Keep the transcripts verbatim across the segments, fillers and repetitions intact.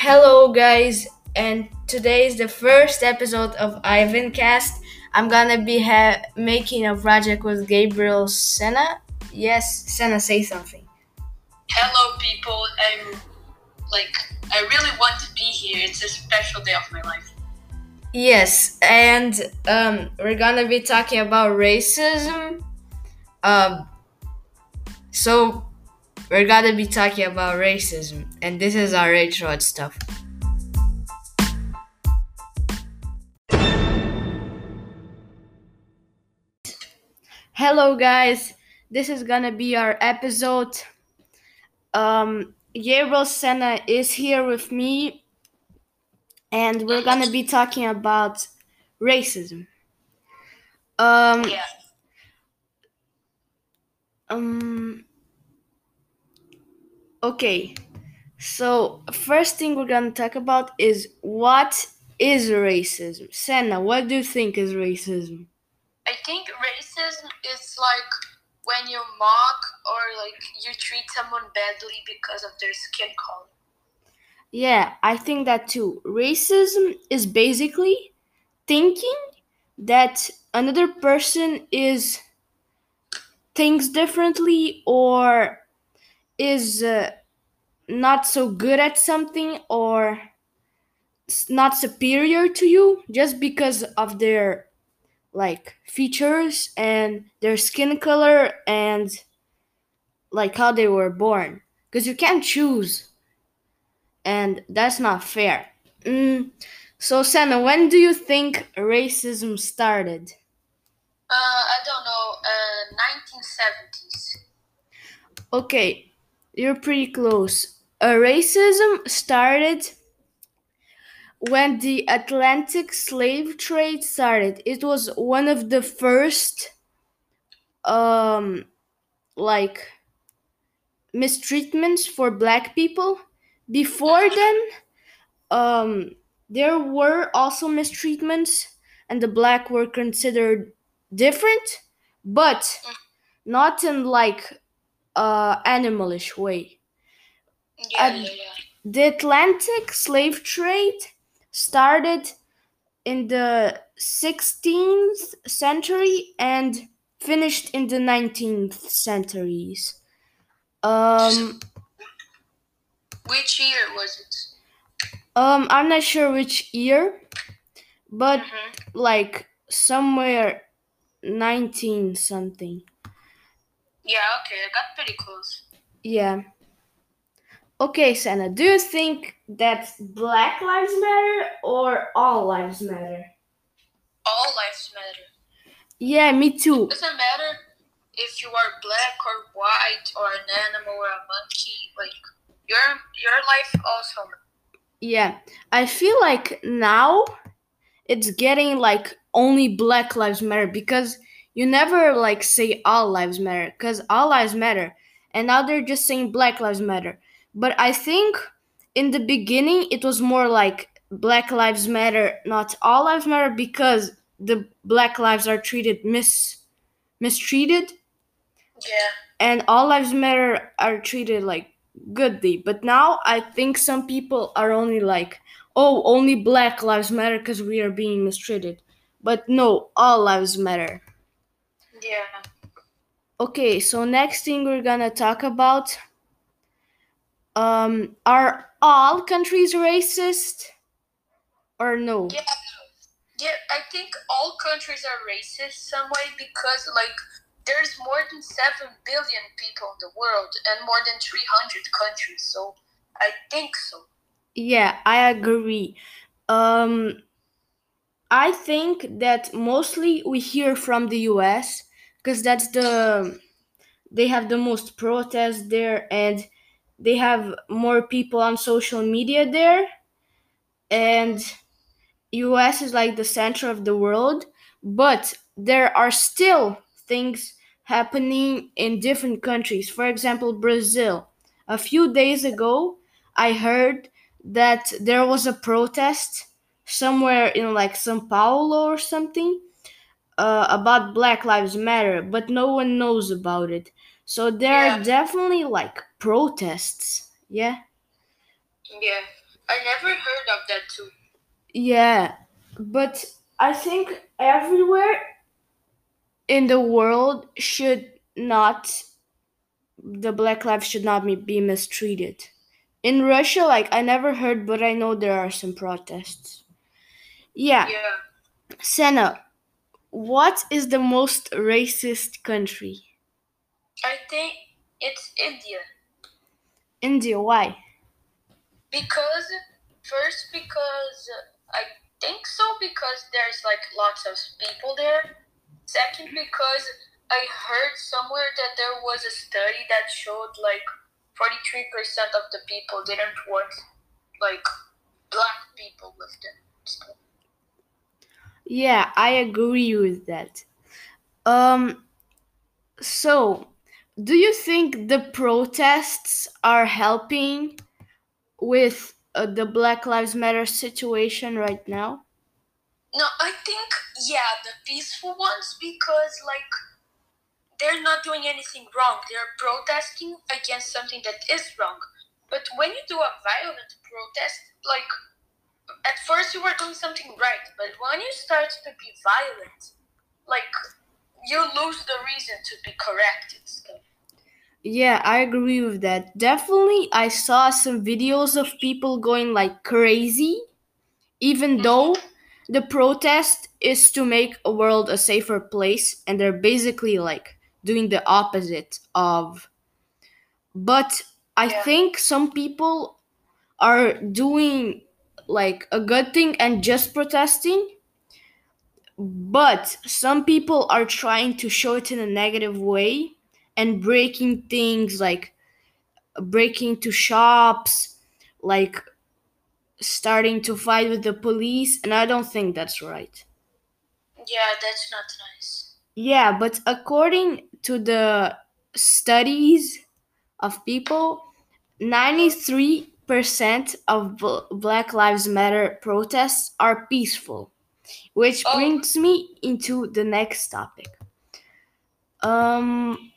Hello, guys, and today is the first episode of Ivancast. I'm gonna be ha- making a project with Gabriel Senna. Yes, Senna, say something. Hello, people. I'm like, I really want to be here. It's a special day of my life. Yes, and um, we're gonna be talking about racism. Um, so we're gonna be talking about racism, and this is our intro and stuff. Hello, guys. This is gonna be our episode. Um, Gabriel Senna is here with me, and we're gonna be talking about racism. Um, Yeah. um, okay. So first thing we're gonna talk about is what is racism. Senna, what do you think is racism? I think racism is like when you mock or like you treat someone badly because of their skin color. Yeah, I think that too. Racism is basically thinking that another person is thinks differently or is uh, not so good at something or s- not superior to you just because of their like features and their skin color and like how they were born, because you can't choose, and that's not fair. mm. So Senna, when do you think racism started? Uh, I don't know. Uh, nineteen seventies. Okay, you're pretty close. Uh, racism started when the Atlantic slave trade started. It was one of the first um like mistreatments for black people. Before then, um there were also mistreatments and the black were considered different, but not in like uh animalish way. Yeah, At yeah, yeah. the Atlantic slave trade started in the sixteenth century and finished in the nineteenth centuries. Um, Which year was it? um, I'm not sure which year, but Mhm. like somewhere nineteen something. Yeah, okay, I got pretty close. Yeah. Okay, Senna, do you think that Black Lives Matter or all lives matter? All lives matter. Yeah, me too. It doesn't matter if you are black or white or an animal or a monkey. Like your your life also. Yeah, I feel like now it's getting like only Black Lives Matter, because you never like say all lives matter, because all lives matter, and now they're just saying Black Lives Matter. But I think in the beginning it was more like Black Lives Matter, not all lives matter, because the black lives are treated mis mistreated, Yeah. and all lives matter are treated like goodly. But now I think some people are only like, oh, only black lives matter because we are being mistreated. But no, all lives matter. Yeah. Okay, so next thing we're gonna talk about, um are all countries racist or no? Yeah. Yeah, I think all countries are racist some way because like there's more than seven billion people in the world and more than three hundred countries. So I think so. Yeah, I agree. um I think that mostly we hear from the U S, because that's the they have the most protests there, and they have more people on social media there, and U S is like the center of the world. But there are still things happening in different countries. For example, Brazil. A few days ago I heard that there was a protest somewhere in like Sao Paulo or something, uh, about Black Lives Matter, but no one knows about it. So there Yeah. are definitely like protests. Yeah. Yeah. I never heard of that too. Yeah, but I think everywhere in the world should not the black lives should not be be mistreated. In Russia, like I never heard, but I know there are some protests. Yeah, Yeah. Senna, what is the most racist country? I think it's India. India. Why? Because first because I think so because there's like lots of people there. Second because I heard somewhere that there was a study that showed like forty-three percent of the people didn't want like black people with them. So, Yeah, I agree with that. Um, so do you think the protests are helping with uh, the Black Lives Matter situation right now? no, I think yeah, the peaceful ones because like they're not doing anything wrong. They're protesting against something that is wrong. But when you do a violent protest, like at first you were doing something right, but when you start to be violent, like you lose the reason to be corrected. So, Yeah, I agree with that. Definitely, I saw some videos of people going like crazy, even mm-hmm. though the protest is to make a world a safer place, and they're basically like doing the opposite of. But I Yeah, think some people are doing like a good thing and just protesting, but some people are trying to show it in a negative way and breaking things like breaking to shops, like starting to fight with the police, and I don't think that's right. yeah, that's not nice. Yeah, but according to the studies of people, Uh-huh. ninety-three percent of Bl- Black Lives Matter protests are peaceful, which Oh, brings me into the next topic. Um,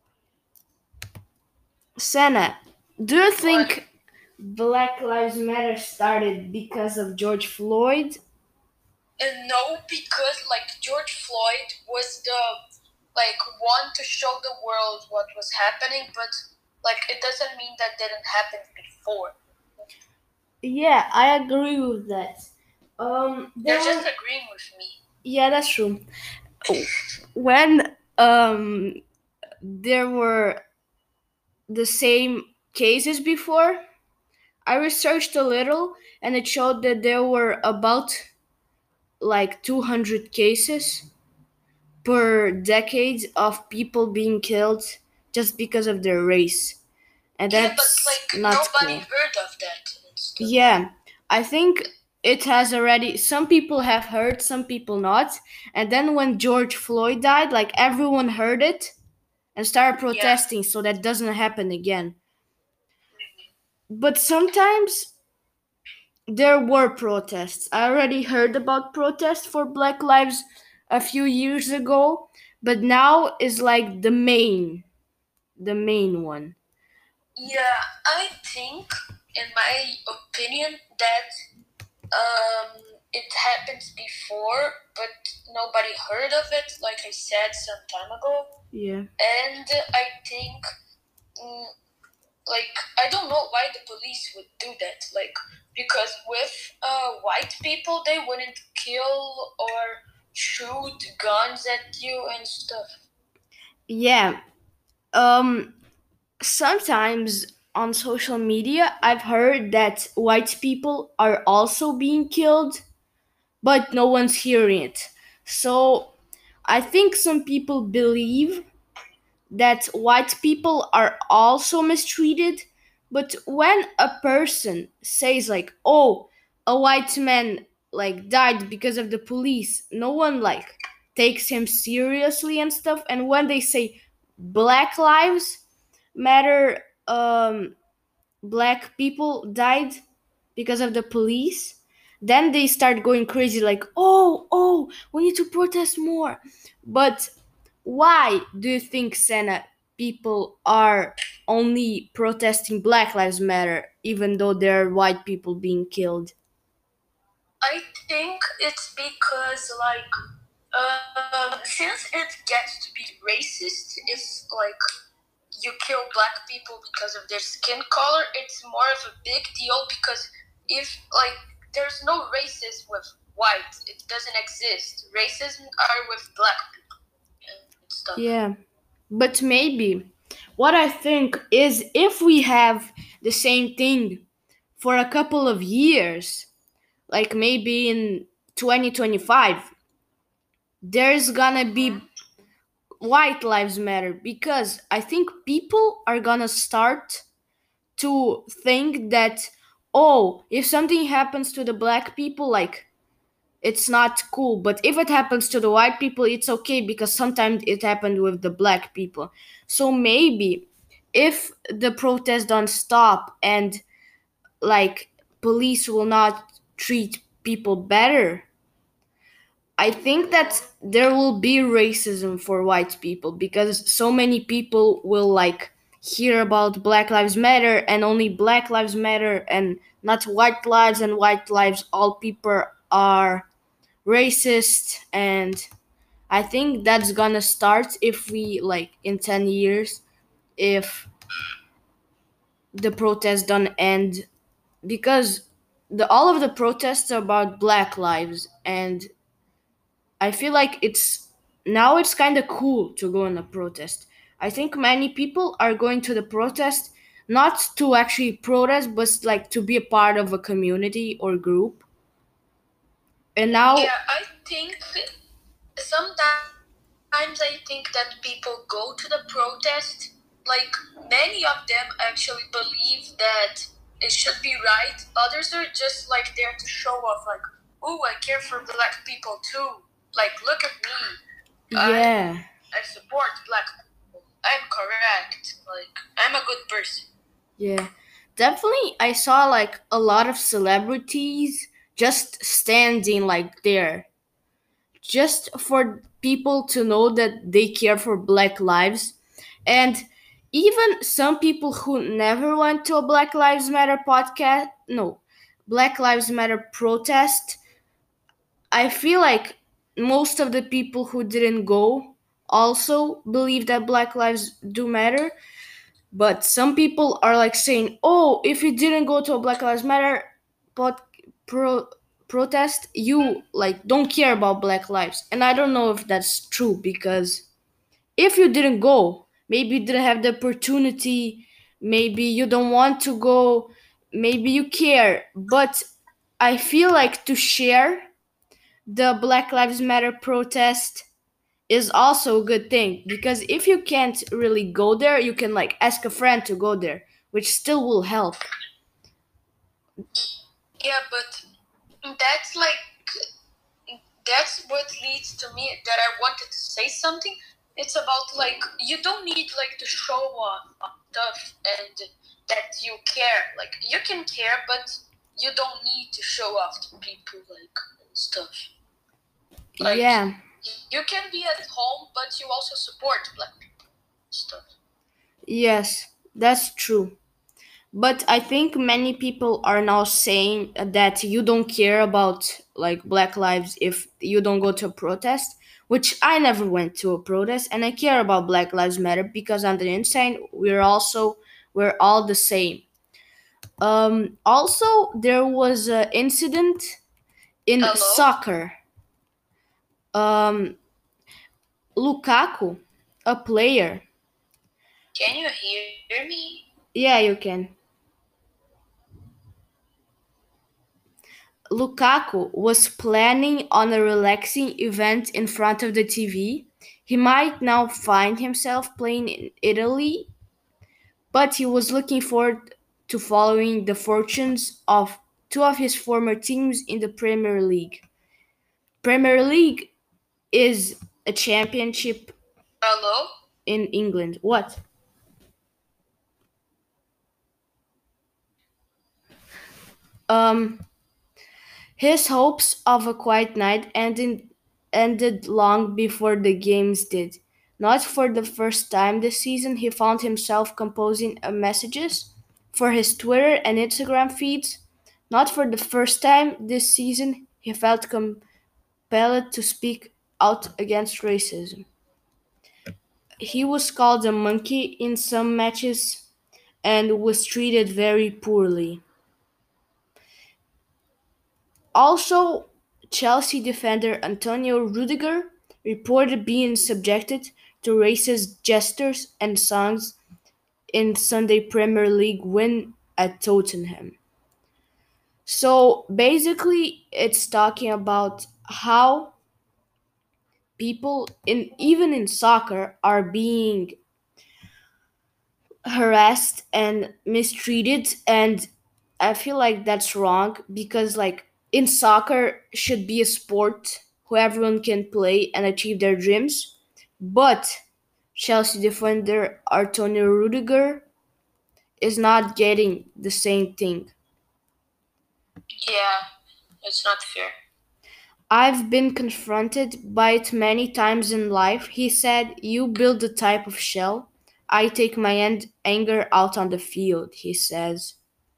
Senna, do you what? think Black Lives Matter started because of George Floyd? And no, because like George Floyd was the like one to show the world what was happening, but like it doesn't mean that didn't happen before. Yeah, I agree with that. Um, You're there just were agreeing with me. yeah, that's true. When um there were the same cases before, I researched a little and it showed that there were about like two hundred cases per decade of people being killed just because of their race. And Yeah, but that's like not nobody cool. heard of that and stuff. Yeah, I think it has already. Some people have heard, some people not. And then when George Floyd died, like everyone heard it and started Yeah. protesting so that doesn't happen again. But sometimes there were protests. I already heard about protests for Black Lives a few years ago, but now is like the main, the main one. Yeah, I think, in my opinion, that um, it happened before, but nobody heard of it, like I said some time ago. Yeah. And I think, mm, like, I don't know why the police would do that. Like, because with uh, white people, they wouldn't kill or shoot guns at you and stuff. Yeah. Um sometimes on social media I've heard that white people are also being killed, but no one's hearing it. So I think some people believe that white people are also mistreated, but when a person says like, "Oh, a white man like died because of the police," no one like takes him seriously and stuff. And when they say Black Lives Matter, um black people died because of the police, then they start going crazy like, oh oh we need to protest more. But why do you think, Senna, people are only protesting Black Lives Matter, even though there are white people being killed? I think it's because like um, since it gets to be racist, if like you kill black people because of their skin color, it's more of a big deal because if like there's no racism with white, it doesn't exist. Racism are with black people and stuff. Yeah. But maybe what I think is if we have the same thing for a couple of years, like maybe in twenty twenty-five, there's gonna be white lives matter because I think people are gonna start to think that, oh, if something happens to the black people, like it's not cool, but if it happens to the white people, it's okay because sometimes it happened with the black people. So maybe if the protests don't stop and like police will not treat people better, I think that there will be racism for white people because so many people will like hear about Black Lives Matter and only Black Lives Matter and not white lives, and white lives, all people are racist. And I think that's gonna start if we like in ten years, if the protests don't end, because the all of the protests are about black lives, and I feel like it's now it's kind of cool to go on a protest. I think many people are going to the protest not to actually protest, but like to be a part of a community or group. And now, Yeah, I think sometimes I think that people go to the protest, like many of them actually believe that it should be right. Others are just like there to show off, like, oh, I care for black people too. Like, look at me. yeah, I, I support black people. I'm correct. Like, I'm a good person. yeah, definitely. I saw like a lot of celebrities just standing like there, just for people to know that they care for black lives. And even some people who never went to a Black Lives Matter podcast, no, Black Lives Matter protest, I feel like most of the people who didn't go also believe that black lives do matter. But some people are like saying, oh, if you didn't go to a Black Lives Matter pod, pro, protest, you like don't care about black lives. And I don't know if that's true, because if you didn't go, maybe you didn't have the opportunity, maybe you don't want to go, maybe you care. But I feel like to share the Black Lives Matter protest is also a good thing, because if you can't really go there, you can like ask a friend to go there, which still will help. Yeah, but that's like that's what leads to me that I wanted to say something. It's about like you don't need like to show off stuff and that you care. Like you can care, but you don't need to show off to people like and stuff. Like, yeah. You can be at home, but you also support black people stuff. Yes, that's true. But I think many people are now saying that you don't care about like black lives if you don't go to a protest, which I never went to a protest, and I care about Black Lives Matter because on the inside we're also we're all the same. Um also there was an incident in Hello? soccer. Um Lukaku, a player. Can you hear me? Yeah, you can. Lukaku was planning on a relaxing event in front of the T V. He might now find himself playing in Italy, but he was looking forward to following the fortunes of two of his former teams in the Premier League. Premier League is a championship Hello? in England. What? Um His hopes of a quiet night ended ended long before the games did. Not for the first time this season, he found himself composing uh, messages for his Twitter and Instagram feeds. Not for the first time this season, he felt compelled to speak out against racism. He was called a monkey in some matches and was treated very poorly. Also, Chelsea defender Antonio Rudiger reported being subjected to racist gestures and songs in Sunday Premier League win at Tottenham. So basically, it's talking about how people in even in soccer are being harassed and mistreated, and I feel like that's wrong because like in soccer should be a sport where everyone can play and achieve their dreams, but Chelsea defender Antonio Rudiger is not getting the same thing. Yeah, it's not fair. I've been confronted by it many times in life. He said, "You build a type of shell. I take my an- anger out on the field," he says.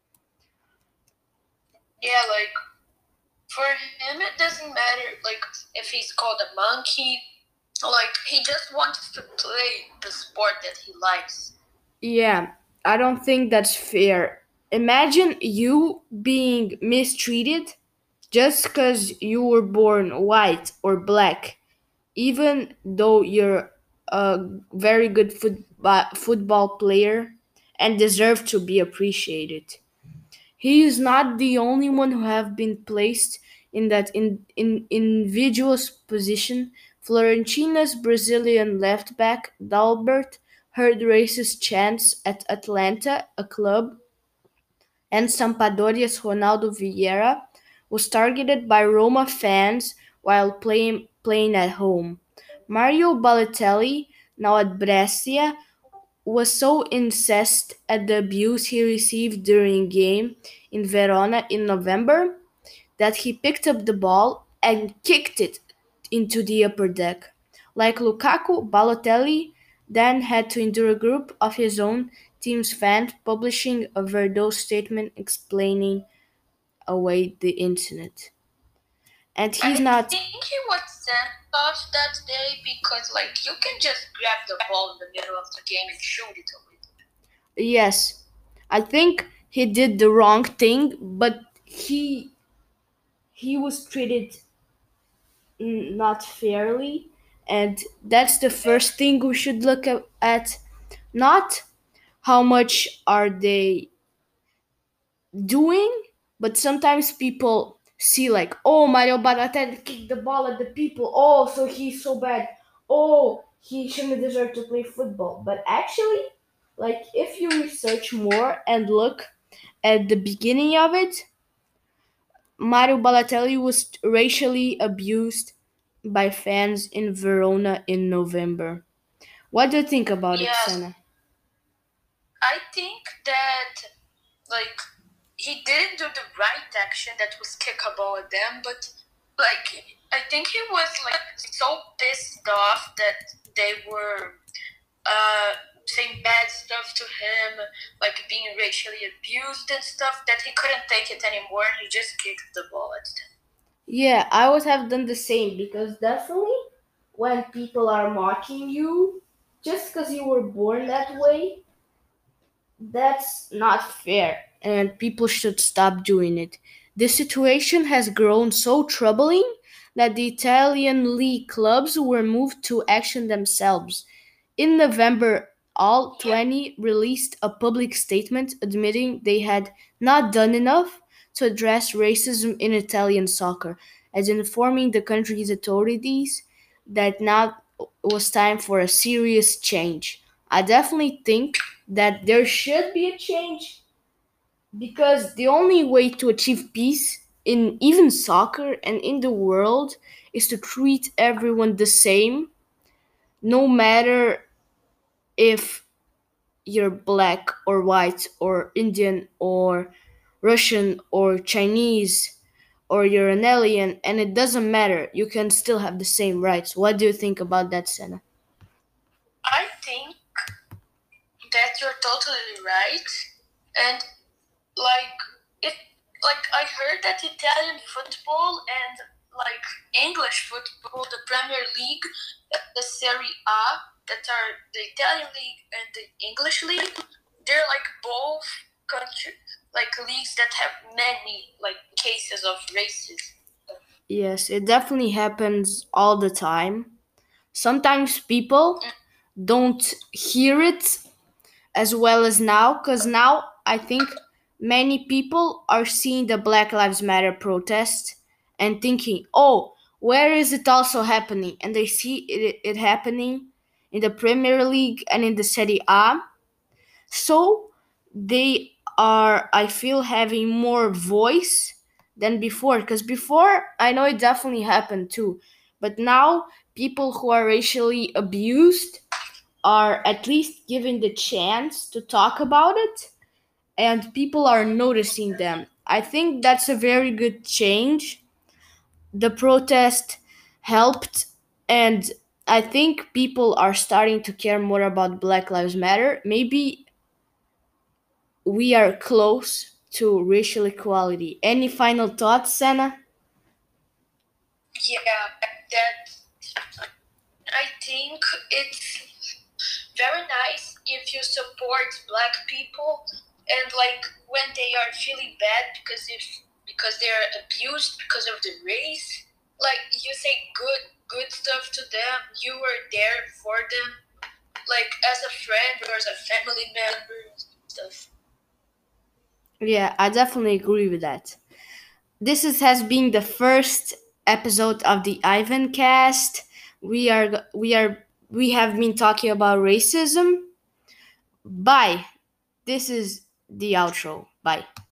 Yeah, like for him, it doesn't matter. Like if he's called a monkey, like he just wants to play the sport that he likes. Yeah, I don't think that's fair. Imagine you being mistreated just because you were born white or black, even though you're a very good football football player and deserve to be appreciated. He is not the only one who have been placed in that in, in invidious position. Fiorentina's Brazilian left-back Dalbert heard racist chants at Atlanta, a club, and Sampdoria's Ronaldo Vieira was targeted by Roma fans while playing playing at home. Mario Balotelli, now at Brescia, was so incensed at the abuse he received during game in Verona in November that he picked up the ball and kicked it into the upper deck. Like Lukaku, Balotelli then had to endure a group of his own team's fans publishing a Verdot statement explaining away the incident. And he's I not. think he was sent off that day because, like, you can just grab the ball in the middle of the game and shoot it away. Yes, I think he did the wrong thing, but he he was treated mm, not fairly, and that's the first thing we should look at, at not how much are they doing, but sometimes people see like, oh, Mario Balotelli kicked the ball at the people, oh, so he's so bad, oh, he shouldn't deserve to play football. But actually, like if you research more and look at the beginning of it, Mario Balotelli was racially abused by fans in Verona in November. What do you think about it, Yes, Sana? I think that, like, he didn't do the right action that was kick a ball at them, but, like, I think he was, like, so pissed off that they were uh, saying bad stuff to him, like being racially abused and stuff, that he couldn't take it anymore. He just kicked the ball at them. Yeah, I would have done the same because definitely when people are mocking you just because you were born that way, that's not fair and people should stop doing it. The situation has grown so troubling that the Italian league clubs were moved to action themselves. In November, all twenty released a public statement admitting they had not done enough to address racism in Italian soccer, as informing the country's authorities that now was time for a serious change. I definitely think that there should be a change because the only way to achieve peace in even soccer and in the world is to treat everyone the same, no matter if you're black or white or Indian or Russian or Chinese or you're an alien, and it doesn't matter. You can still have the same rights. What do you think about that, Senna? you're totally right. And like it, like I heard that Italian football and like English football, the Premier League, the Serie A, that are the Italian league and the English league, they're like both country like leagues that have many like cases of racism. Yes, it definitely happens all the time. Sometimes people don't hear it as well as now, because now I think many people are seeing the Black Lives Matter protest and thinking, oh, where is it also happening? And they see it, it happening in the Premier League and in the Serie A. So they are, I feel, having more voice than before. Because before, I know it definitely happened too. But now, people who are racially abused are at least given the chance to talk about it, and people are noticing them. I think that's a very good change. The protest helped, and I think people are starting to care more about Black Lives Matter. Maybe we are close to racial equality. Any final thoughts, Senna? Yeah, that I think it's very nice if you support black people and like when they are feeling bad because if because they are abused because of the race, like you say good good stuff to them, you were there for them, like as a friend or as a family member and stuff. Yeah, I definitely agree with that. This is, has been the first episode of the Ivan cast. We are we are we have been talking about racism. Bye. This is the outro. Bye.